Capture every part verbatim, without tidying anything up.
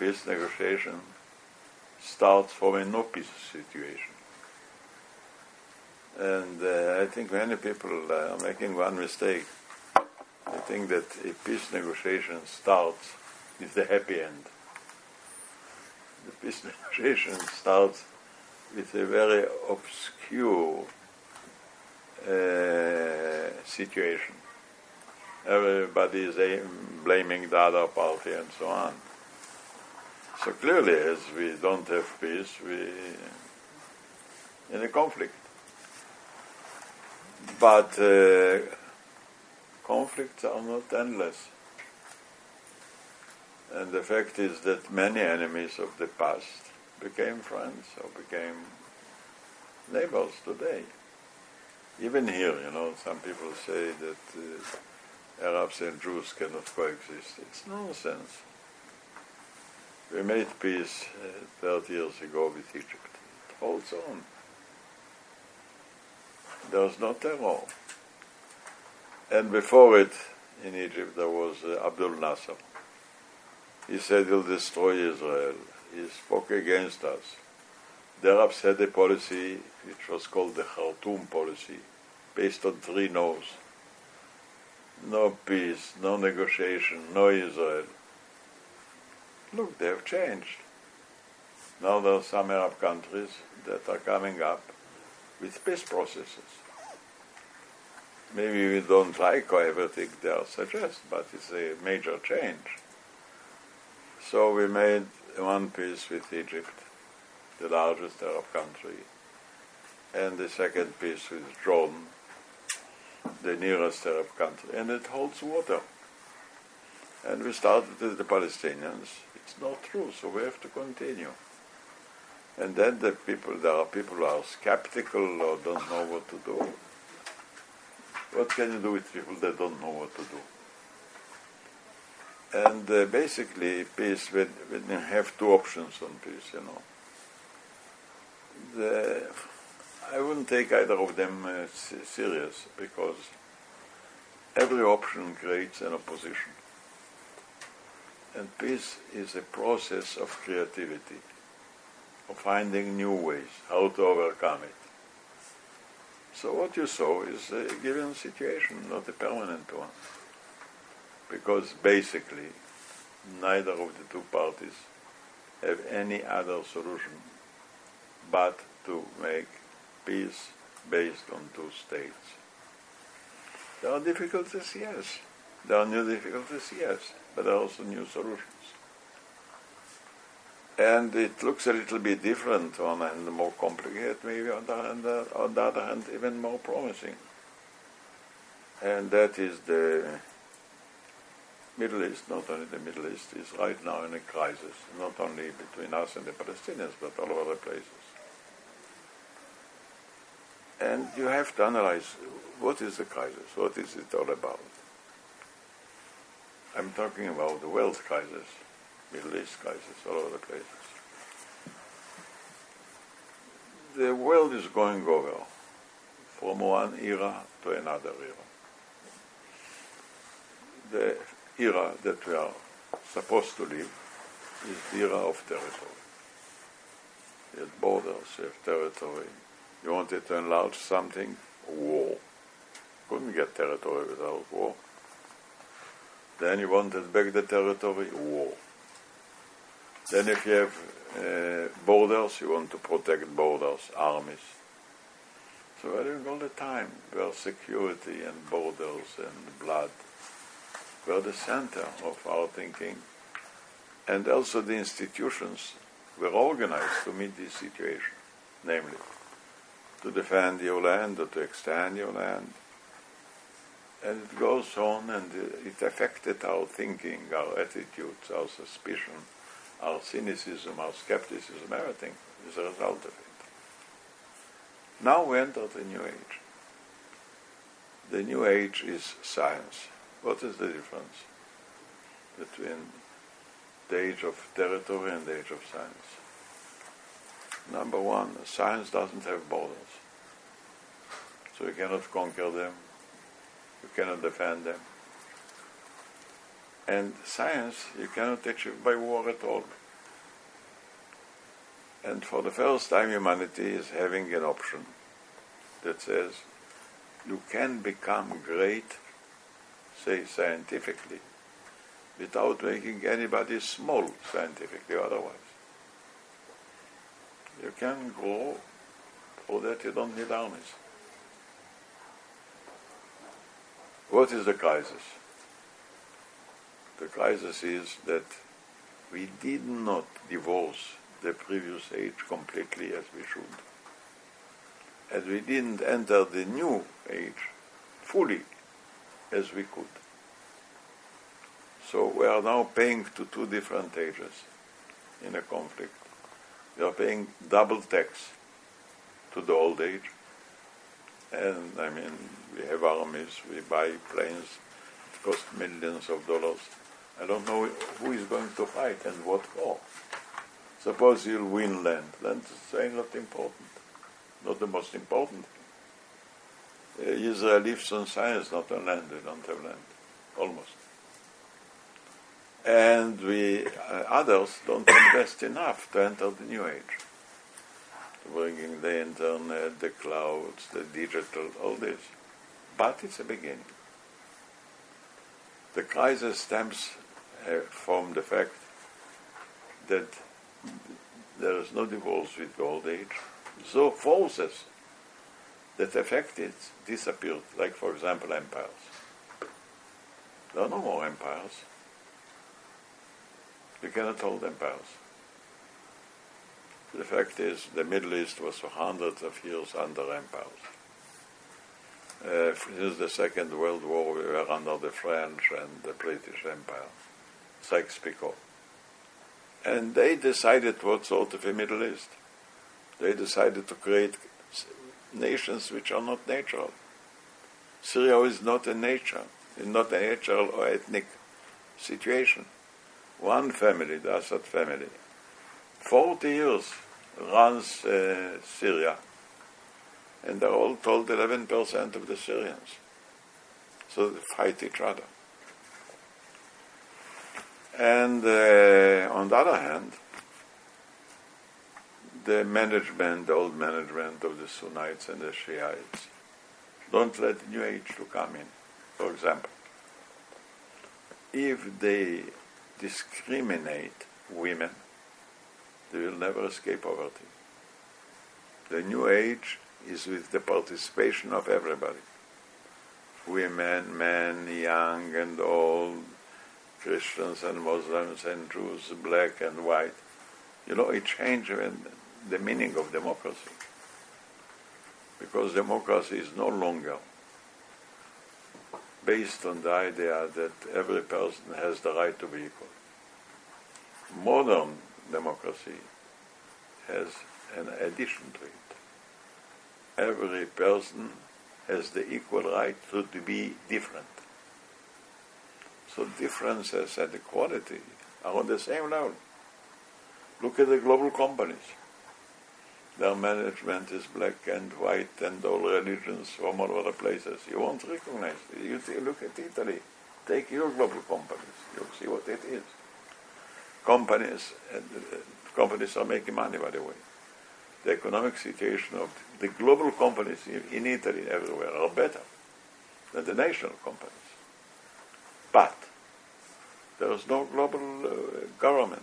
peace negotiation starts from a no peace situation. And uh, I think many people uh, are making one mistake. They think that a peace negotiation starts with the happy end. The peace negotiation starts with a very obscure uh, situation. Everybody is aim, blaming the other party and so on. So clearly, as we don't have peace, we in a conflict. But uh, conflicts are not endless. And the fact is that many enemies of the past became friends or became neighbors today. Even here, you know, some people say that uh, Arabs and Jews cannot coexist. It's nonsense. We made peace uh, thirty years ago with Egypt. It holds on. There's no terror. And before it, in Egypt, there was uh, Abdul Nasser. He said he'll destroy Israel. He spoke against us. The Arabs had a policy which was called the Khartoum policy, based on three no's. No peace, no negotiation, no Israel. Look, they have changed. Now there are some Arab countries that are coming up with peace processes. Maybe we don't like everything they are suggest, but it's a major change. So we made one peace with Egypt, the largest Arab country, and the second peace with Jordan, the nearest Arab country, and it holds water. And we started with the Palestinians. It's not true, so we have to continue. And then the people, there are people who are skeptical or don't know what to do. What can you do with people that don't know what to do? And uh, basically, peace, when, when you have two options on peace, you know, the, I wouldn't take either of them uh, serious, because every option creates an opposition. And peace is a process of creativity, of finding new ways, how to overcome it. So what you saw is a given situation, not a permanent one. Because basically, neither of the two parties have any other solution but to make peace based on two states. There are difficulties, yes. There are new difficulties, yes. But there are also new solutions. And it looks a little bit different on the hand, more complicated, maybe on the, hand, uh, on the other hand, even more promising. And that is the Middle East. Not only the Middle East is right now in a crisis, not only between us and the Palestinians, but all over the places. And you have to analyze what is the crisis, what is it all about. I'm talking about the world crisis, Middle East crisis, all over the places. The world is going over from one era to another era. The era that we are supposed to live is the era of territory. You have borders, you have territory. You wanted to enlarge something, war. Couldn't get territory without war. Then you wanted back the territory, war. Then if you have uh, borders, you want to protect borders, armies. So we're doing all the time where security and borders and blood were the center of our thinking. And also the institutions were organized to meet this situation, namely to defend your land or to extend your land. And it goes on, and it affected our thinking, our attitudes, our suspicion, our cynicism, our skepticism, everything is a result of it. Now we enter the new age. The new age is science. What is the difference between the age of territory and the age of science? Number one, science doesn't have borders. So you cannot conquer them. You cannot defend them. And science you cannot achieve by war at all. And for the first time, humanity is having an option that says you can become great, say scientifically, without making anybody small scientifically otherwise. You can grow, for that you don't need armies. What is the crisis? The crisis is that we did not divorce the previous age completely as we should. As we didn't enter the new age fully as we could. So we are now paying to two different ages in a conflict. We are paying double tax to the old age. And I mean, we have armies, we buy planes, it costs millions of dollars. I don't know who is going to fight and what for. Suppose you'll win land. Land is not important, not the most important thing. Uh, Israel lives on science, not on land. They don't have land, almost. And we, uh, others, don't invest enough to enter the new age. Bringing the internet, the clouds, the digital, all this. But it's a beginning. The crisis stems uh, from the fact that there is no divorce with the old age. So forces that affect it disappeared, like, for example, empires. There are no more empires. You cannot hold empires. The fact is, the Middle East was for hundreds of years under empires. Uh, since the Second World War, we were under the French and the British Empire, Sykes-Picot. And they decided what sort of a Middle East. They decided to create nations which are not natural. Syria is not a nature, it's not a natural or ethnic situation. One family, the Assad family, forty years runs uh, Syria, and they're all told eleven percent of the Syrians. So they fight each other. And uh, on the other hand, the management, the old management of the Sunnites and the Shiites, don't let the new age to come in. For example, if they discriminate women, they will never escape poverty. The new age is with the participation of everybody. Women, men, young and old, Christians and Muslims and Jews, black and white. You know, it changes the meaning of democracy. Because democracy is no longer based on the idea that every person has the right to be equal. Modern democracy has an addition to it. Every person has the equal right to, to be different. So differences and equality are on the same level. Look at the global companies. Their management is black and white and all religions from all other places. You won't recognize it. You see, look at Italy. Take your global companies. You'll see what it is. Companies, and, uh, companies are making money, by the way. The economic situation of the global companies in, in Italy everywhere are better than the national companies. But there is no global uh, government.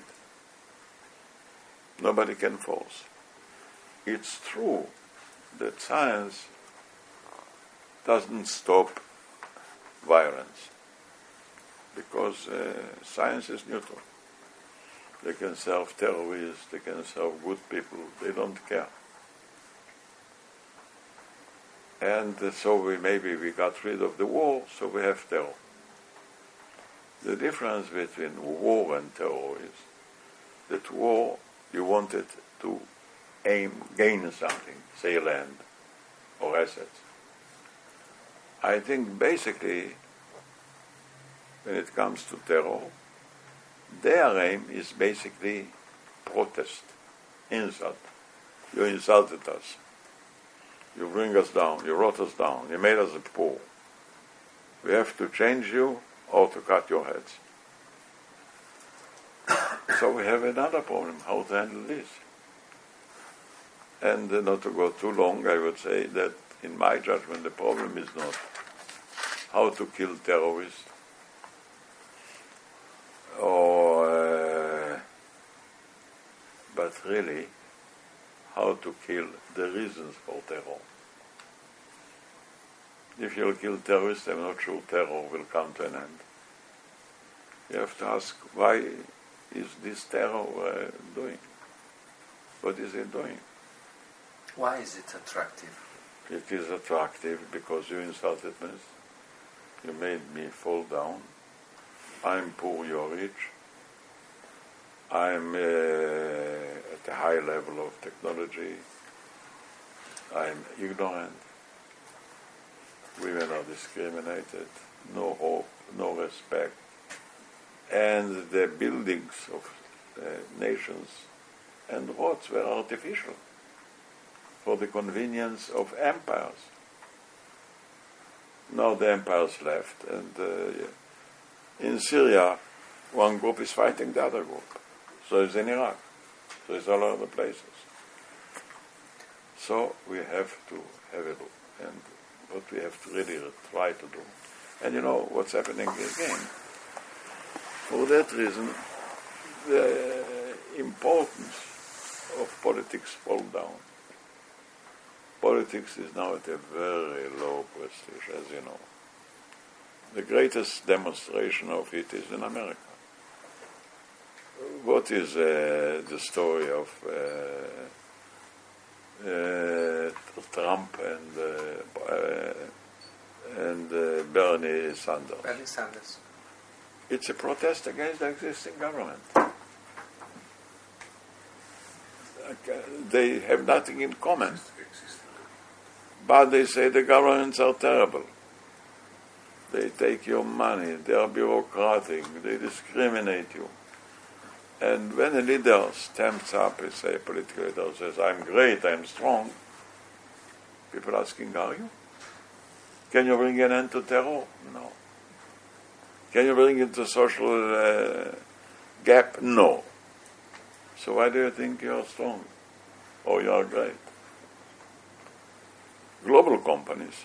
Nobody can force. It's true that science doesn't stop violence because uh, science is neutral. They can serve terrorists, they can serve good people, they don't care. And uh, so we maybe we got rid of the war, so we have terror. The difference between war and terror is that war, you wanted to aim, gain something, say land or assets. I think basically, when it comes to terror, their aim is basically protest, insult. You insulted us. You bring us down. You wrote us down. You made us poor. We have to change you or to cut your heads. So we have another problem, how to handle this. And uh, not to go too long, I would say that in my judgment the problem is not how to kill terrorists or uh, but really how to kill the reasons for terror. If you'll kill terrorists, I'm not sure terror will come to an end. You have to ask, why is this terror uh, doing? What is it doing? Why is it attractive? It is attractive because you insulted me. You made me fall down. I'm poor, you're rich. I'm uh, at a high level of technology. I'm ignorant. Women are discriminated. No hope, no respect. And the buildings of uh, nations and roads were artificial for the convenience of empires. Now the empires left, and uh, in Syria, one group is fighting the other group. So is in Iraq. So it's all other places. So we have to have a look, and what we have to really try to do. And you know what's happening again. For that reason, the importance of politics falls down. Politics is now at a very low prestige, as you know. The greatest demonstration of it is in America. What is uh, the story of uh, uh, Trump and uh, uh, and uh, Bernie Sanders? Bernie Sanders. It's a protest against the existing government. They have nothing in common, but they say the governments are terrible. They take your money, they are bureaucratic, they discriminate you. And when a leader stands up, and say a political leader says, I'm great, I'm strong, people asking, are you? Can you bring an end to terror? No. Can you bring it to social uh, gap? No. So why do you think you are strong or you are great? Global companies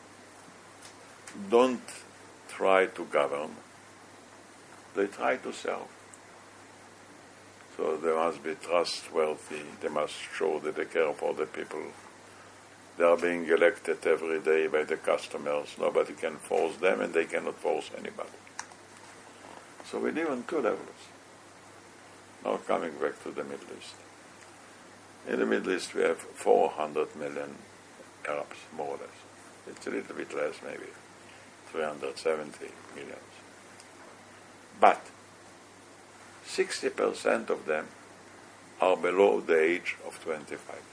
don't try to govern, they try to serve. So they must be trustworthy, they must show that they care for the people. They are being elected every day by the customers. Nobody can force them and they cannot force anybody. So we live on two levels. Now coming back to the Middle East. In the Middle East we have four hundred million Arabs, more or less. It's a little bit less, maybe three hundred seventy million. But sixty percent of them are below the age of twenty-five.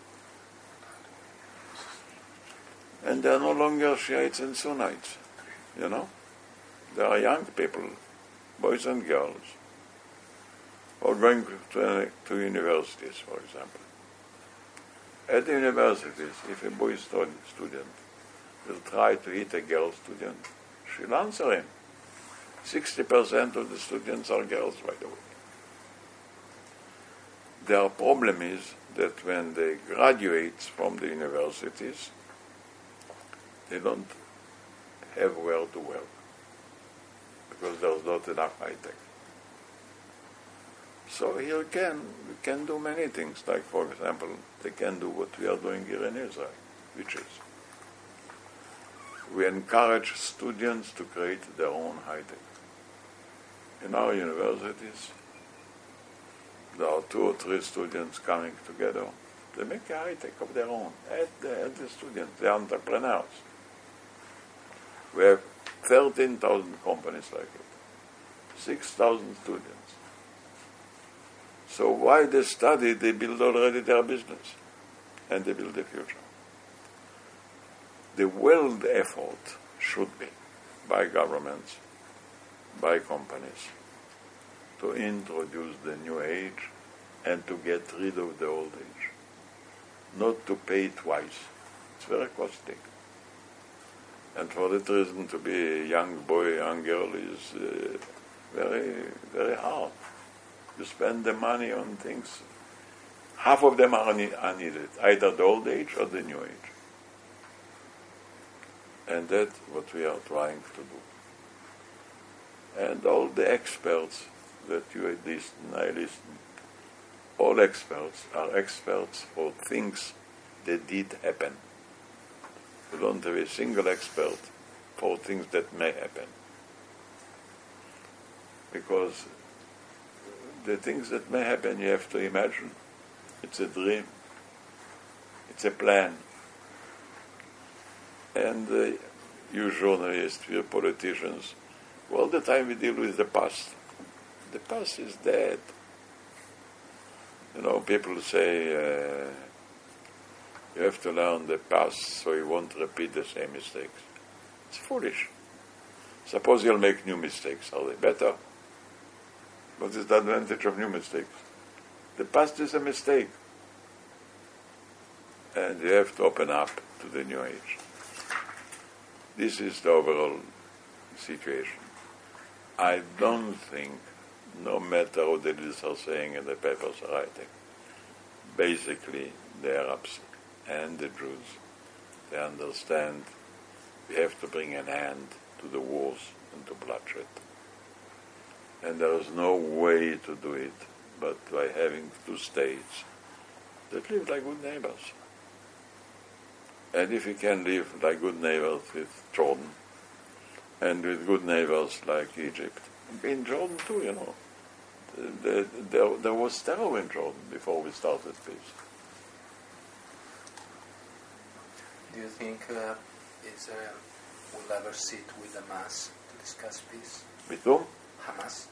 And they are no longer Shiites and Sunnites, you know. They are young people, boys and girls, who are going to, to universities, for example. At the universities, if a boy student will try to hit a girl student, she'll answer him. sixty percent of the students are girls, by the way. Their problem is that when they graduate from the universities, they don't have where to work because there's not enough high tech. So here can we can do many things. Like, for example, they can do what we are doing here in Israel, which is we encourage students to create their own high tech. In our universities, there are two or three students coming together. They make a high tech of their own at the, at the students, the entrepreneurs. We have thirteen thousand companies like it, six thousand students. So while they study, they build already their business, and they build the future. The world effort should be by governments, by companies, to introduce the new age and to get rid of the old age. Not to pay twice. It's very costly. And for that reason, to be a young boy, young girl is uh, very, very hard. You spend the money on things, half of them are, ne- are needed, either the old age or the new age. And that's what we are trying to do. And all the experts that you listen, I listen, all experts are experts for things that did happen. We don't have a single expert for things that may happen. Because the things that may happen you have to imagine. It's a dream. It's a plan. And uh, you journalists, you politicians, all the time we deal with the past. The past is dead. You know, people say uh, you have to learn the past so you won't repeat the same mistakes. It's foolish. Suppose you'll make new mistakes. Are they better? What is the advantage of new mistakes? The past is a mistake. And you have to open up to the new age. This is the overall situation. I don't think, no matter what the leaders are saying and the papers are writing, basically the Arabs and the Jews, they understand we have to bring an end to the wars and to bloodshed. And there is no way to do it but by having two states that live like good neighbors. And if we can live like good neighbors with Jordan, and with good neighbors like Egypt, in Jordan too, you know, the, the, there, there was terror in Jordan before we started peace. Do you think uh, Israel will ever sit with Hamas to discuss peace? With whom? Hamas?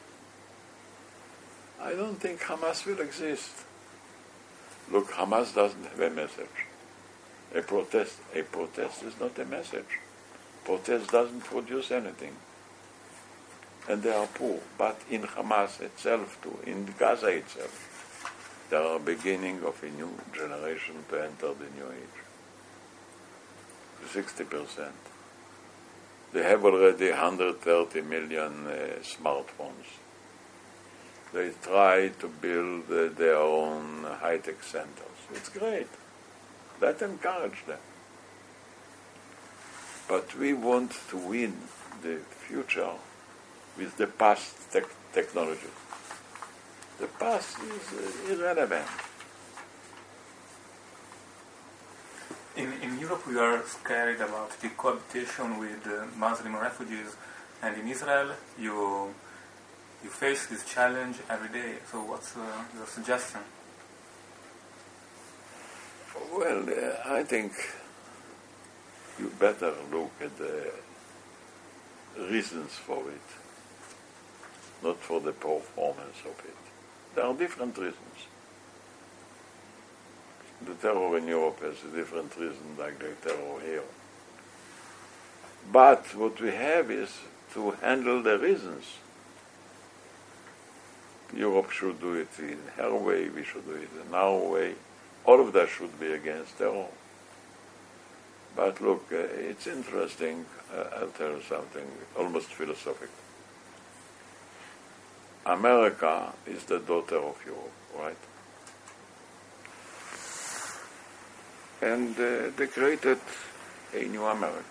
I don't think Hamas will exist. Look, Hamas doesn't have a message. A protest, a protest is not a message. Protest doesn't produce anything. And they are poor. But in Hamas itself too, in Gaza itself, they are beginning of a new generation to enter the new age. sixty percent. They have already one hundred thirty million uh, smartphones. They try to build uh, their own high-tech centers. It's great. Let's encourage them. But we want to win the future with the past tech- technology. The past is uh, irrelevant. In, in Europe, we are scared about the cohabitation with uh, Muslim refugees, and in Israel, you you face this challenge every day. So, what's uh, your suggestion? Well, uh, I think you better look at the reasons for it, not for the performance of it. There are different reasons. The terror in Europe has a different reason like the terror here. But what we have is to handle the reasons. Europe should do it in her way, we should do it in our way. All of that should be against terror. But look, uh, it's interesting, uh, I'll tell you something almost philosophical. America is the daughter of Europe, right? And uh, they created a new America.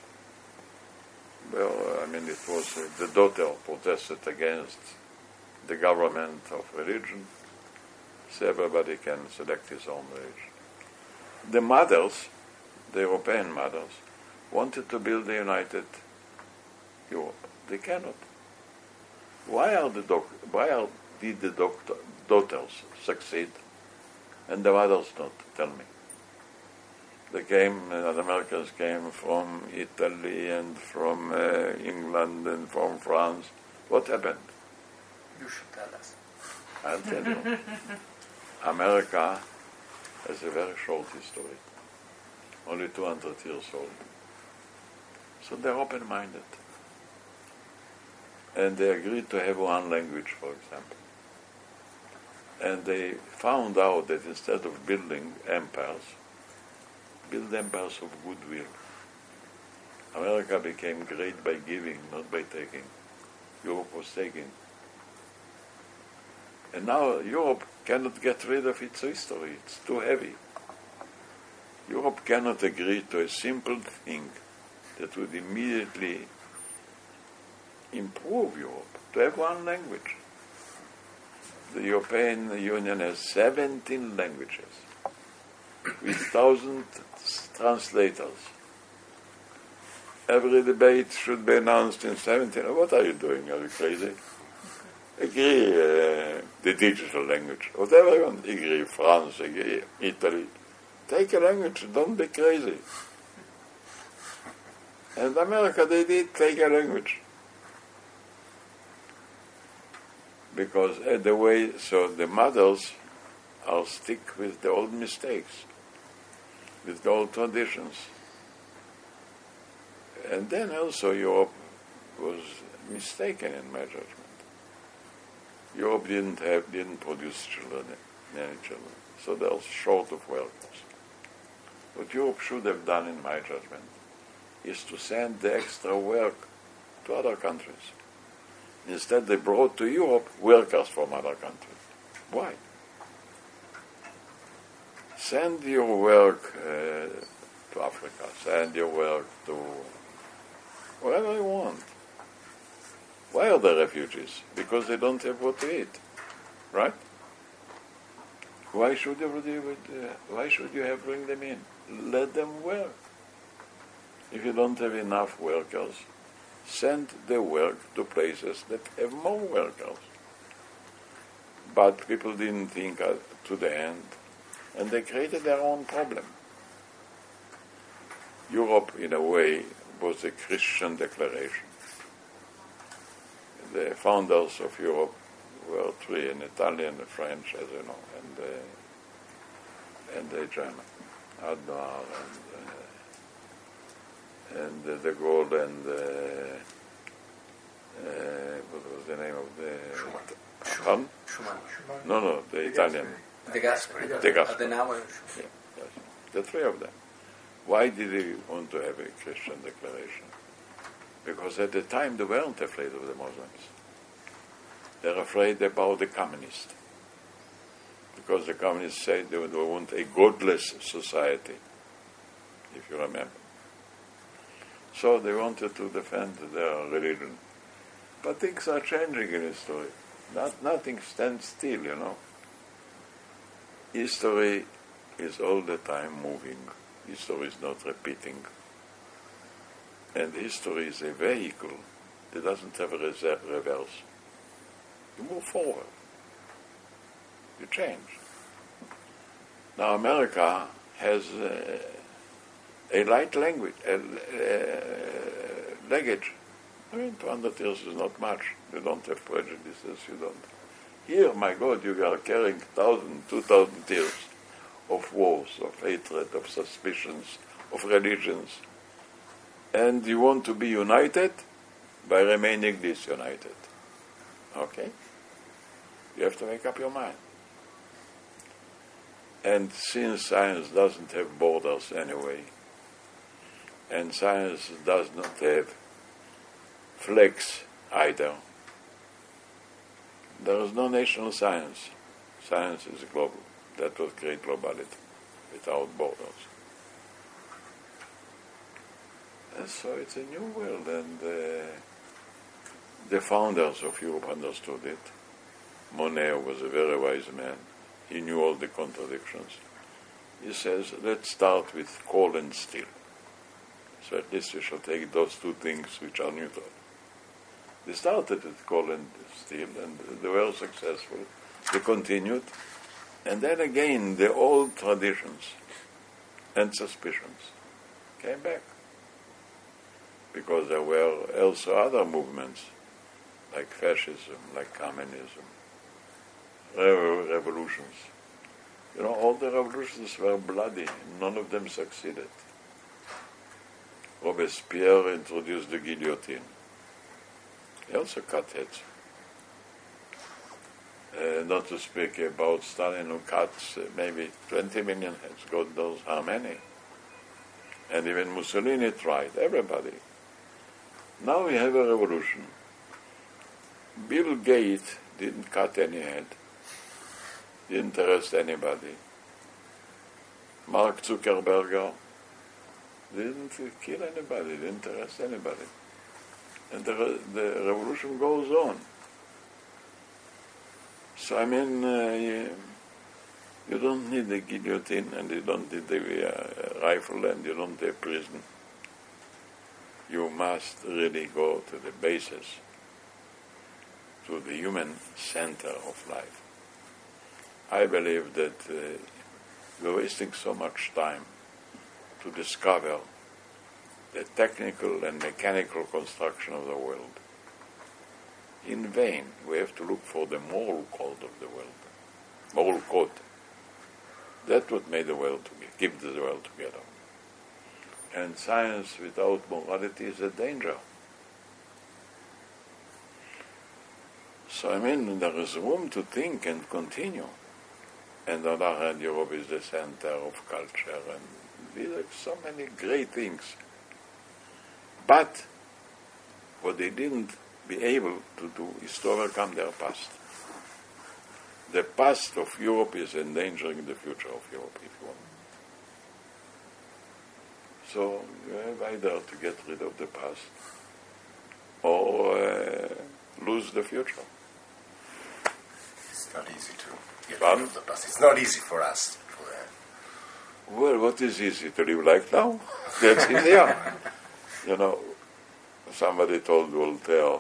Well, I mean, it was uh, the daughter protested against the government of religion, so everybody can select his own religion. The mothers, the European mothers, wanted to build a united Europe. They cannot. Why are the doc- why are, did the doctor, daughters succeed and the mothers not? Tell me. They came, uh, the Americans came from Italy and from uh, England and from France. What happened? You should tell us. I'll tell you. America has a very short history, only two hundred years old. So they're open-minded. And they agreed to have one language, for example. And they found out that instead of building empires, build empires of goodwill. America became great by giving, not by taking. Europe was taking. And now Europe cannot get rid of its history. It's too heavy. Europe cannot agree to a simple thing that would immediately improve Europe, to have one language. The European Union has seventeen languages with thousand translators. Every debate should be announced in seventeen. What are you doing? Are you crazy? Agree uh, the digital language. Whatever you want. Agree France, agree Italy. Take a language, don't be crazy. And America, they did take a language. Because uh, the way, so the mothers are stick with the old mistakes, with the old traditions. And then also Europe was mistaken in my judgment. Europe didn't have, didn't produce children, any children, so they're short of workers. What Europe should have done, in my judgment, is to send the extra work to other countries. Instead, they brought to Europe workers from other countries. Why? Send your work uh, to Africa, send your work to wherever you want. Why are they refugees? Because they don't have what to eat, right? Why should you uh, why should you have bring them in? Let them work. If you don't have enough workers, send the work to places that have more workers. But people didn't think uh, to the end, and they created their own problem. Europe, in a way, was a Christian declaration. The founders of Europe were three, an Italian, a French, as you know, and uh, and a German, Adenauer and uh, and uh, de Gaulle and uh, uh, what was the name of the Schumann. Schumann. Schumann? No, no, the Italian. De Gasperi. De Gasperi. Adenauer. Yeah, yes. The three of them. Why did they want to have a Christian declaration? Because at the time they weren't afraid of the Muslims. They're afraid about the communists. Because the communists said they would want a godless society, if you remember. So they wanted to defend their religion. But things are changing in history. Not, nothing stands still, you know. History is all the time moving. History is not repeating. And history is a vehicle that doesn't have a reverse. You move forward. You change. Now America has uh, a light language, a, uh, luggage. I mean, two hundred years is not much. You don't have prejudices, you don't. Here, my God, you are carrying one thousand, two thousand years of wars, of hatred, of suspicions, of religions. And you want to be united by remaining disunited. Okay? You have to make up your mind. And since science doesn't have borders anyway, and science does not have flags either, there is no national science. Science is global. That will create globality without borders. And so it's a new world, and uh, the founders of Europe understood it. Monet was a very wise man. He knew all the contradictions. He says, let's start with coal and steel. So at least we shall take those two things which are neutral. They started with coal and steel, and they were successful. They continued. And then again, the old traditions and suspicions came back. Because there were also other movements, like fascism, like communism, re- revolutions. You know, all the revolutions were bloody. None of them succeeded. Robespierre introduced the guillotine. He also cut heads. Uh, not to speak about Stalin, who cuts uh, maybe twenty million heads, God knows how many. And even Mussolini tried, everybody. Now we have a revolution. Bill Gates didn't cut any head. didn't interest anybody. Mark Zuckerberg didn't kill anybody, didn't interest anybody. And the, re- the revolution goes on. So I mean, uh, you, you don't need the guillotine, and you don't need the uh, rifle, and you don't need prison. You must really go to the basis, to the human center of life. I believe that uh, we're wasting so much time to discover the technical and mechanical construction of the world. In vain, we have to look for the moral code of the world. Moral code. That's what made the world together, keep the world together. And science without morality is a danger. So I mean, there is room to think and continue. And on the other hand, Europe is the center of culture, and these are so many great things. But what they didn't be able to do is to overcome their past. The past of Europe is endangering the future of Europe, if you want. So you have either to get rid of the past or uh, lose the future. It's not easy to get Pardon? rid of the past. It's not easy for us. For, uh, Well, what is easy to live like now? That's easier. You know, somebody told Voltaire,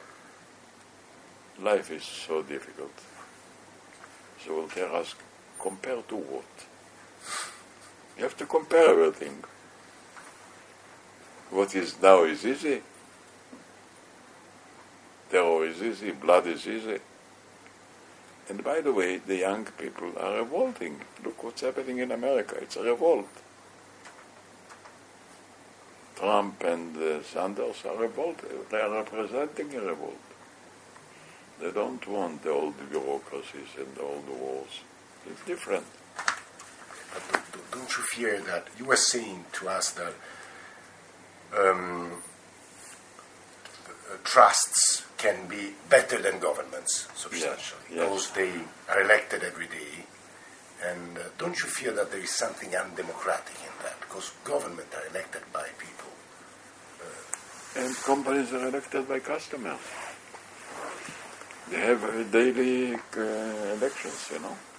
life is so difficult. So Voltaire asked, compare to what? You have to compare everything. What is now is easy. Terror is easy, blood is easy. And by the way, the young people are revolting. Look what's happening in America. It's a revolt. Trump and uh, Sanders are revolted. They are representing a revolt. They don't want the old bureaucracies and the old wars. It's different. But don't, don't- don't you fear that you were saying to us that um, uh, trusts can be better than governments substantially Yes, yes. because they are elected every day, and uh, don't you fear that there is something undemocratic in that because government are elected by people? And companies are elected by customers. They have uh, daily uh, elections, you know.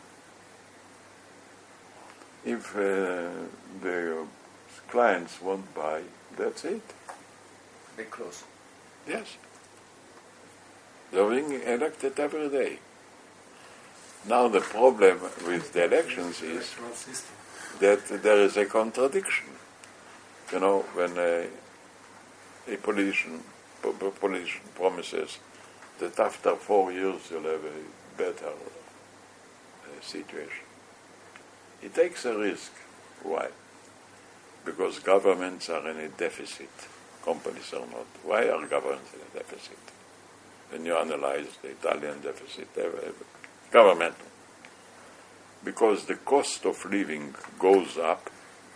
If uh, the clients won't buy, that's it. They close. Yes. They're being elected every day. Now the problem with the elections is Electoral system. that there is a contradiction. You know, when a, a politician, po- po- politician promises that after four years you'll have a better uh, situation, he takes a risk. Why? Because governments are in a deficit. Companies are not. Why are governments in a deficit? When you analyze the Italian deficit, they have government. Because the cost of living goes up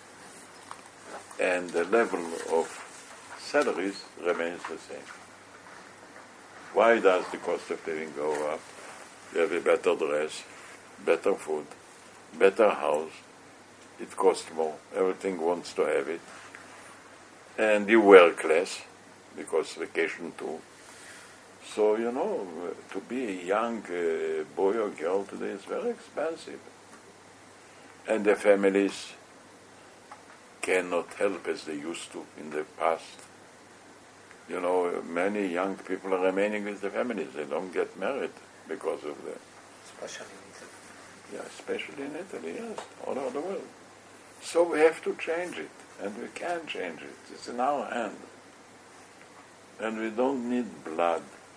and the level of salaries remains the same. Why does the cost of living go up? You have a better dress, better food, better house. It costs more. Everything wants to have it. And you work less because vacation too. So, you know, to be a young uh, boy or girl today is very expensive. And the families cannot help as they used to in the past. You know, many young people are remaining with the families. They don't get married because of the... Especially in Italy. Yeah, especially in Italy, yes, all over the world. So we have to change it, and we can change it. It's in our hand. And we don't need blood.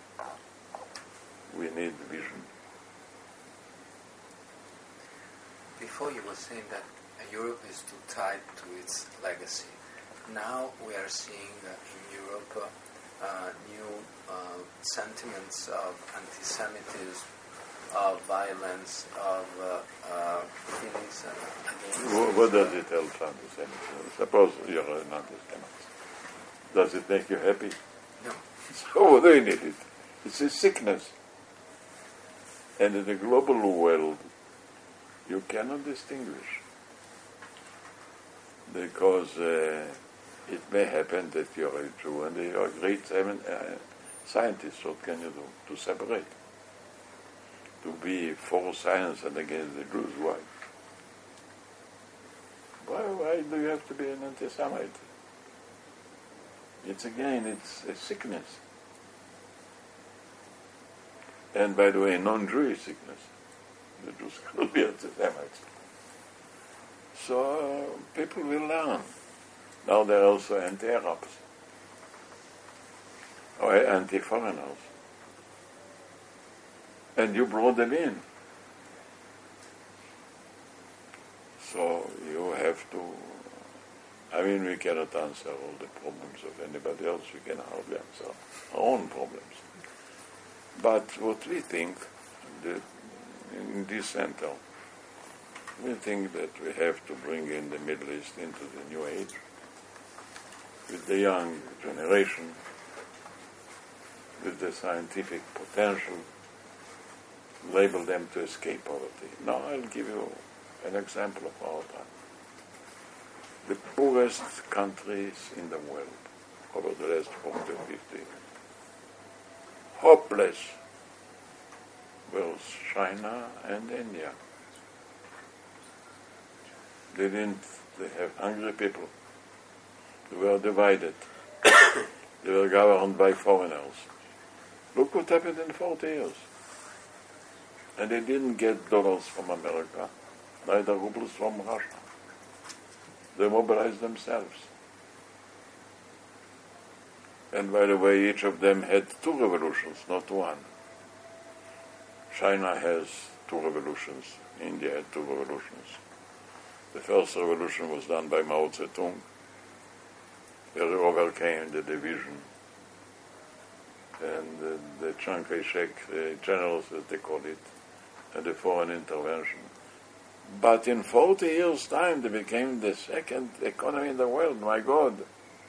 We need vision. Before you were saying that Europe is too tied to its legacy. Now we are seeing uh, in Europe uh, uh, new uh, sentiments of anti-Semitism, of violence, of uh, uh, feelings uh, against. Wh- What does it help anti-Semitism? Suppose you're an anti-Semite. Does it make you happy? No. So what do you need it? It's a sickness. And in the global world, you cannot distinguish. Because uh, it may happen that you are a Jew and you are a great uh, scientist. What can you do to separate? To be for science and against the Jews, why? Why, why do you have to be an anti-Semite? It's again, it's a sickness. And by the way, non-Jewish sickness. The Jews cannot be anti-Semites. So uh, people will learn. Now they're also anti-Arabs. Or anti-foreigners. And you brought them in. So you have to, I mean, we cannot answer all the problems of anybody else. We can hardly answer our own problems. But what we think, that in this center, we think that we have to bring in the Middle East into the new age with the young generation, with the scientific potential, label them to escape poverty. Now I'll give you an example of our time. The poorest countries in the world over the last forty or fifty years, hopeless, was China and India. They didn't, they have hungry people. They were divided. They were governed by foreigners. Look what happened in forty years. And they didn't get dollars from America, neither rubles from Russia. They mobilized themselves. And by the way, each of them had two revolutions, not one. China has two revolutions. India had two revolutions. The first revolution was done by Mao Zedong, where he overcame the division and the, the Chiang Kai-shek the generals, as they call it, and the foreign intervention. But in forty years' time, they became the second economy in the world. My God.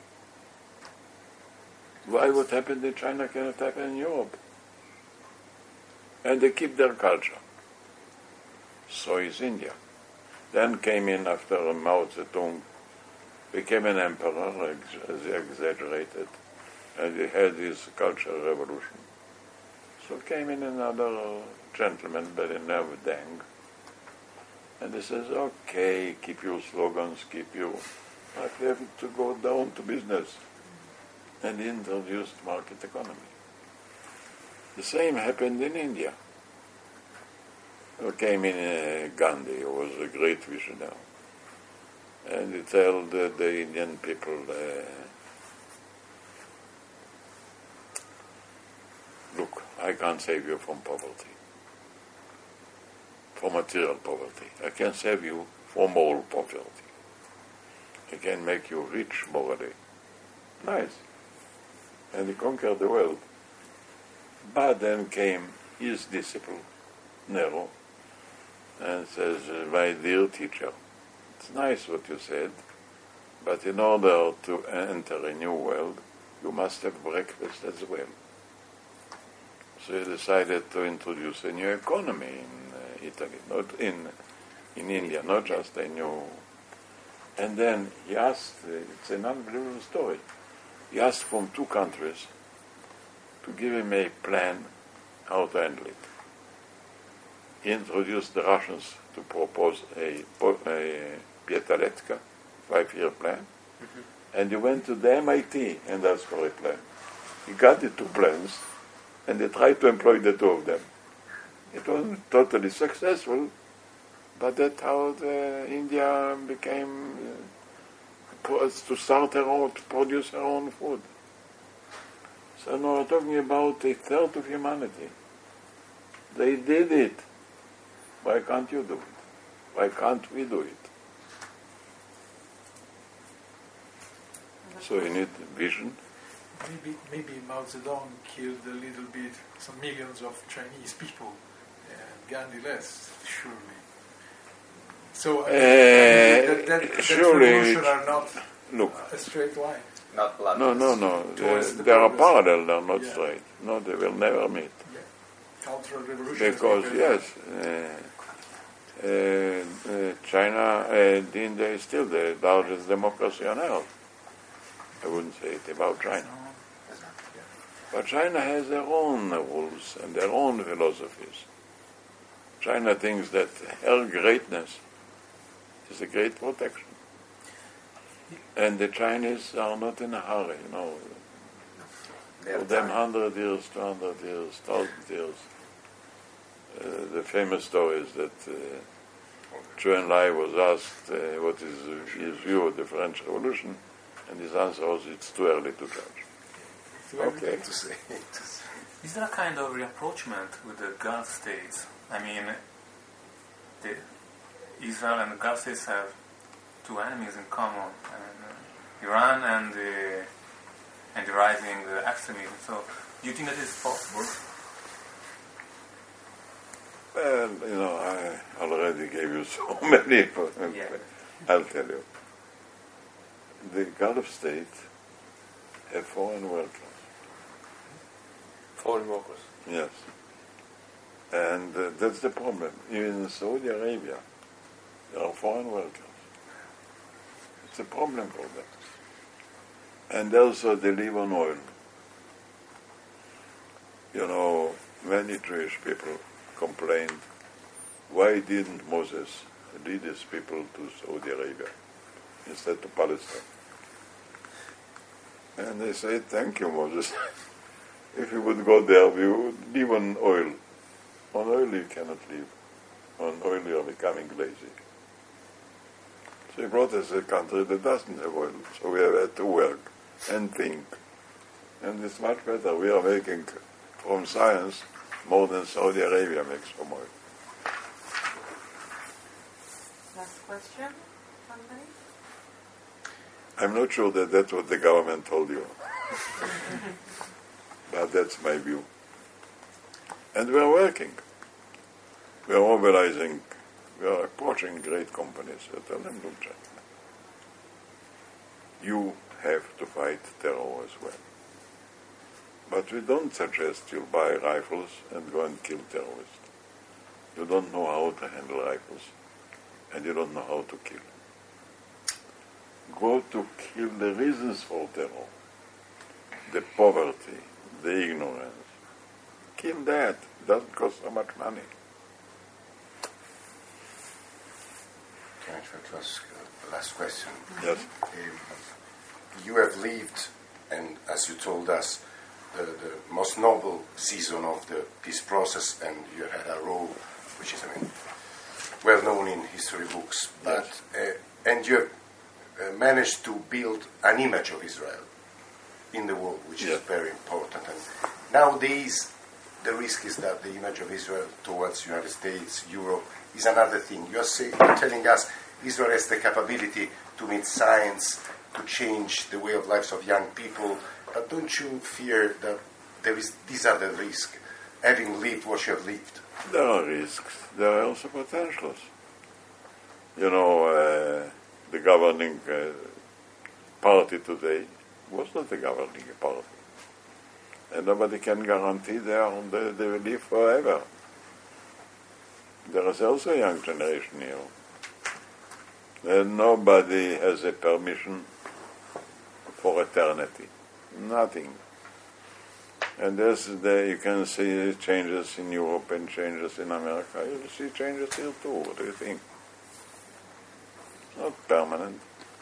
Why what happened in China cannot happen in Europe? And they keep their culture. So is India. Then came in after Mao Zedong, became an emperor, as he exaggerated, and he had his cultural revolution. So came in another gentleman by the name of Deng, and he says, okay, keep your slogans, keep your... But we have to go down to business. And he introduced market economy. The same happened in India. There came in uh, Gandhi, who was a great visionary. And he told the, the Indian people, uh, look, I can't save you from poverty, from material poverty. I can save you from moral poverty. I can make you rich morally. Nice. And he conquered the world. But then came his disciple, Nero, and says, my dear teacher, it's nice what you said, but in order to enter a new world, you must have breakfast as well. So he decided to introduce a new economy in uh, Italy, not in in India, not just a new... And then he asked, uh, it's an unbelievable story, he asked from two countries to give him a plan how to handle it. He introduced the Russians to propose a, a Pietaletka five-year plan, mm-hmm. and he went to the M I T and asked for a plan. He got the two plans, and they tried to employ the two of them. It wasn't totally successful, but that's how the India became uh, to start her own, to produce her own food. So now we're talking about a third of humanity. They did it. Why can't you do it? Why can't we do it? So you need vision. Maybe, maybe Mao Zedong killed a little bit, some millions of Chinese people, and Gandhi less, surely. So uh, Uh, that, that, that surely, revolution are not look, a straight line. Not blood. no, no, no. Towards They, the they are progress. parallel. They are not Yeah. straight. No, they will never meet. Yeah. Cultural revolution. Because, yes, uh, uh, uh, China, uh, India is still the largest democracy on earth. I wouldn't say it about China. But China has their own rules and their own philosophies. China thinks that her greatness is a great protection. And the Chinese are not in a hurry, you know. For them, hundred years, two hundred years, thousand years. Uh, the famous story is that uh, Zhou Enlai was asked uh, what is his view of the French Revolution, and his answer was, it's too early to judge. Okay, to say. Is there a kind of rapprochement with the Gulf states? I mean, the Israel and the Gulf states have two enemies in common, and, uh, Iran and the and the rising uh, extremism. So, do you think that is possible? Well, you know, I already gave you so many. Yeah. I'll tell you. The Gulf states have foreign workers. Foreign workers. Yes. And uh, that's the problem. Even in Saudi Arabia, there are foreign workers. It's a problem for them. And also they live on oil. You know, many Jewish people complained, why didn't Moses lead his people to Saudi Arabia instead to Palestine? And they say, thank you, Moses. If you would go there, we would live on oil. On oil you cannot live. On oil you are becoming lazy. So he brought us a country that doesn't have oil, so we have had to work and think. And it's much better. We are making from science more than Saudi Arabia makes from oil. Last question, somebody? I'm not sure that that's what the government told you. But that's my view. And we are working. We are mobilizing. We are approaching great companies. I tell them, look, gentlemen, you have to fight terror as well. But we don't suggest you buy rifles and go and kill terrorists. You don't know how to handle rifles, and you don't know how to kill. Go to kill the reasons for terror, the poverty, the ignorance. Kill that. It doesn't cost so much money. Can I try to ask uh, the last question? Yes. Um, you have lived, and as you told us, the, the most noble season of the peace process, and you had a role which is, I mean, well known in history books. But uh, and you have uh, managed to build an image of Israel in the world, which yes. is very important. And nowadays, the risk is that the image of Israel towards the United States, Europe, is another thing. You are, say, you're telling us Israel has the capability to meet science, to change the way of lives of young people, but don't you fear that there is these are the risks, having lived what you have lived? There are risks. There are also potentials. You know, uh, the governing uh, party today was not the governing party. And nobody can guarantee they, are, they, they will live forever. There is also a young generation here. And nobody has a permission for eternity. Nothing. And this the, you can see changes in Europe and changes in America. You will see changes here too. What do you think? It's not permanent.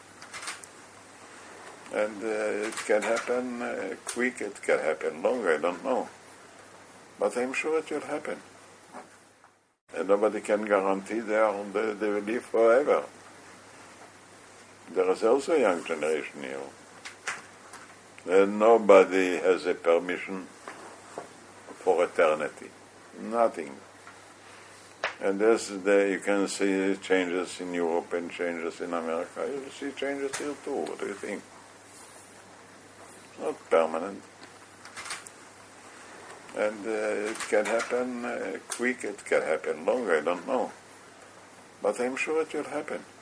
And uh, it can happen uh, quick, it can happen long, I don't know. But I'm sure it will happen. And nobody can guarantee they, are, they, they will live forever. There is also a young generation here. And nobody has a permission for eternity. Nothing. And this the, you can see changes in Europe and changes in America. You will see changes here too. What do you think? It's not permanent. And uh, it can happen uh, quick, it can happen long, I don't know. But I'm sure it will happen.